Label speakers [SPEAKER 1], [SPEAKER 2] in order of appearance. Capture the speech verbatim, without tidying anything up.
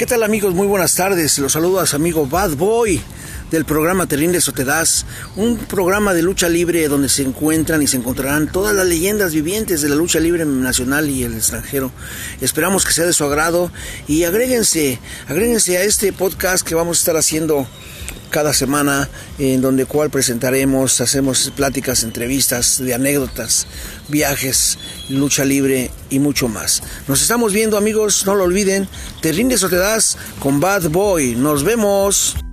[SPEAKER 1] ¿Qué tal, amigos? Muy buenas tardes. Los saludo a su amigo Bad Boy del programa Te rindes o te das, un programa de lucha libre donde se encuentran y se encontrarán todas las leyendas vivientes de la lucha libre nacional y el extranjero. Esperamos que sea de su agrado y agréguense, agréguense a este podcast que vamos a estar haciendo cada semana, en donde cual presentaremos, hacemos pláticas, entrevistas de anécdotas, viajes, lucha libre y mucho más. Nos estamos viendo, amigos, no lo olviden. Te rindes o te das con Bad Boy. Nos vemos.